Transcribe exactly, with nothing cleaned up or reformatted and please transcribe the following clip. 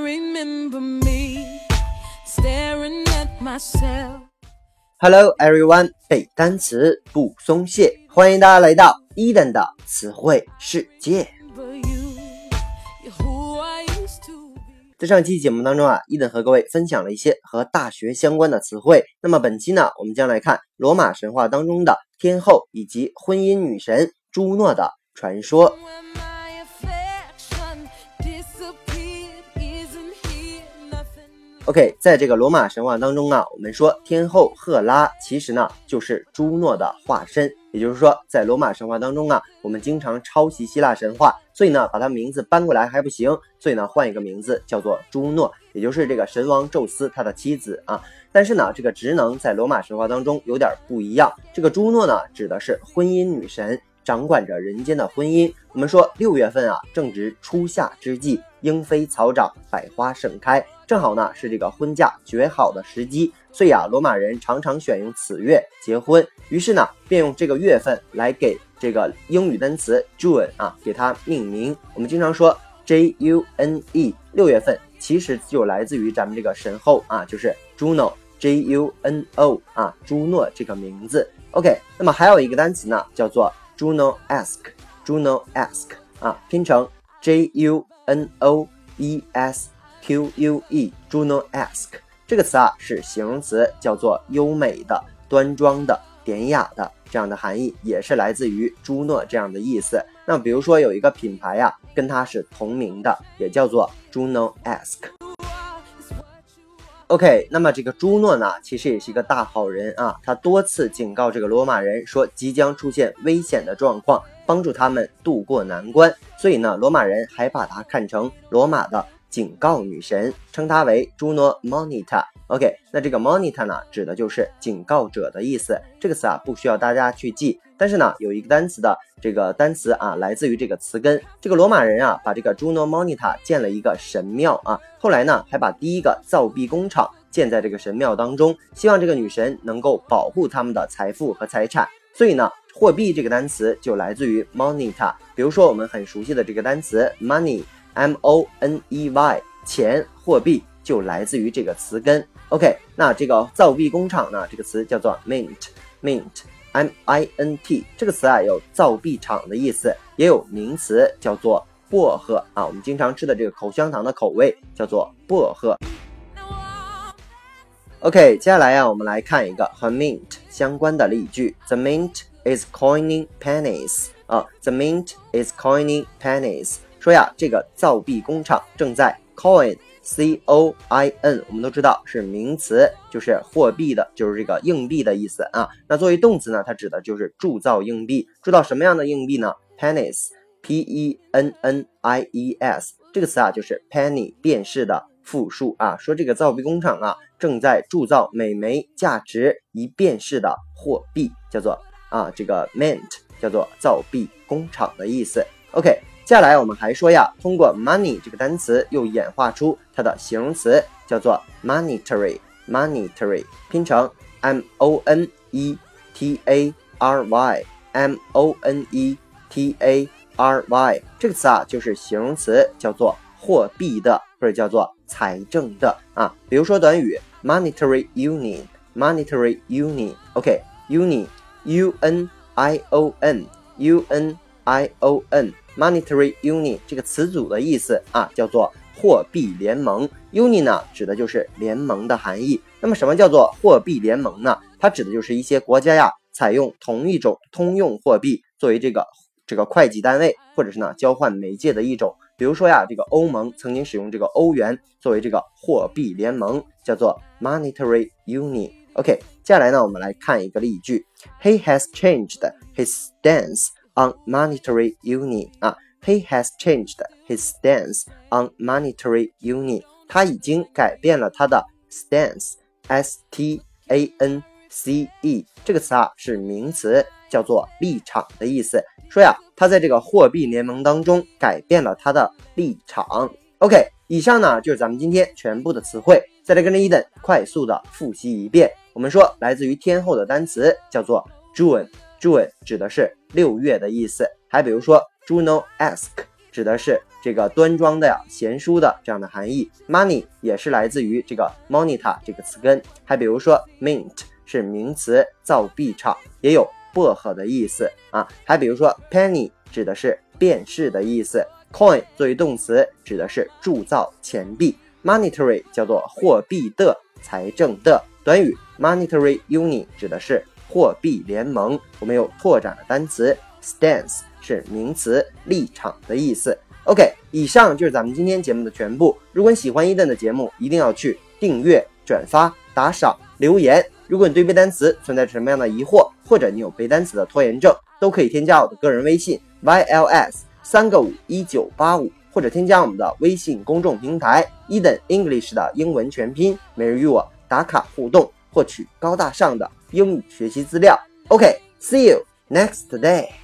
remember me staring at myself. Hello everyone， 背单词不松懈，欢迎大家来到 Eden 的词汇世界。在上期节目当中啊 ，Eden 和各位分享了一些和大学相关的词汇。那么本期呢，我们将来看罗马神话当中的天后以及婚姻女神朱诺的传说。OK， 在这个罗马神话当中啊，我们说天后赫拉其实呢就是朱诺的化身，也就是说在罗马神话当中啊，我们经常抄袭希腊神话，所以呢把它名字搬过来还不行，所以呢换一个名字叫做朱诺，也就是这个神王宙斯他的妻子啊。但是呢这个职能在罗马神话当中有点不一样，这个朱诺呢指的是婚姻女神，掌管着人间的婚姻。我们说六月份啊正值初夏之际，莺飞草长，百花盛开，正好呢是这个婚嫁绝好的时机，所以啊罗马人常常选用此月结婚，于是呢便用这个月份来给这个英语单词 June 啊给它命名。我们经常说 J U N E， 六月份其实就来自于咱们这个神后啊，就是 Juno J U N O 啊朱诺这个名字。 OK， 那么还有一个单词呢叫做 Junoesque Junoesque 啊拼成 J U N O E S Q U E Junoesque 这个词啊是形容词，叫做优美的、端庄的、典雅的这样的含义，也是来自于朱诺这样的意思。那比如说有一个品牌啊跟它是同名的，也叫做 Junoesque。 OK， 那么这个朱诺呢其实也是一个大好人啊，他多次警告这个罗马人说即将出现危险的状况，帮助他们渡过难关，所以呢罗马人还把他看成罗马的警告女神，称她为朱诺 Monita。 OK， 那这个 Monita 呢指的就是警告者的意思，这个词啊不需要大家去记，但是呢有一个单词的这个单词啊来自于这个词根，这个罗马人啊把这个朱诺 Monita 建了一个神庙啊，后来呢还把第一个造币工厂建在这个神庙当中，希望这个女神能够保护他们的财富和财产，所以呢货币这个单词就来自于 Monita。 比如说我们很熟悉的这个单词 Money M O N E Y 钱货币就来自于这个词根。 OK， 那这个造币工厂呢这个词叫做 Mint Mint M I N T 这个词啊有造币厂的意思，也有名词叫做薄荷啊，我们经常吃的这个口香糖的口味叫做薄荷。 OK， 接下来啊我们来看一个和 Mint 相关的例句。 The Mint is coining pennies 啊 The Mint is coining pennies 说呀这个造币工厂正在 coin C O I N 我们都知道是名词，就是货币的，就是这个硬币的意思啊。那作为动词呢它指的就是铸造硬币，铸造什么样的硬币呢？ Pennies P E N N I E S 这个词啊就是 penny 便士的复数啊，说这个造币工厂啊正在铸造每枚价值一便士的货币，叫做啊这个 mint 叫做造币工厂的意思。 OK，接下来我们还说呀，通过 money 这个单词又演化出它的形容词，叫做 monetary monetary 拼成 M O N E T A R Y M O N E T A R Y 这个词啊就是形容词，叫做货币的或者叫做财政的啊。比如说短语 monetary union monetary union OK union U N I O N U N I O N monetary union 这个词组的意思啊叫做货币联盟。 union 呢指的就是联盟的含义。那么什么叫做货币联盟呢？它指的就是一些国家呀采用同一种通用货币作为这个这个会计单位，或者是呢交换媒介的一种。比如说呀这个欧盟曾经使用这个欧元作为这个货币联盟，叫做 monetary union。 OK， 接下来呢我们来看一个例句。 He has changed his stance on monetary union 啊 He has changed his stance on monetary union 他已经改变了他的 stance S T A N C E 这个词啊是名词，叫做立场的意思。说呀他在这个货币联盟当中改变了他的立场。 OK， 以上呢就是咱们今天全部的词汇，再来跟着Eden快速的复习一遍。我们说来自于天后的单词叫做 June June 指的是六月的意思，还比如说 Junoesque 指的是这个端庄的呀、贤淑的这样的含义。Money 也是来自于这个 moneta 这个词根。还比如说 mint 是名词，造币厂，也有薄荷的意思啊。还比如说 penny 指的是便士的意思。coin 作为动词指的是铸造钱币。monetary 叫做货币的、财政的。短语 monetary union 指的是货币联盟。我们有拓展的单词 stance 是名词，立场的意思。 OK， 以上就是咱们今天节目的全部。如果你喜欢伊登的节目，一定要去订阅、转发、打赏、留言。如果你对背单词存在什么样的疑惑，或者你有背单词的拖延症，都可以添加我的个人微信 Y L S 三个五一九八五，或者添加我们的微信公众平台伊登 English 的英文全拼，每日与我打卡互动，获取高大上的英语学习资料。OK，see you next day。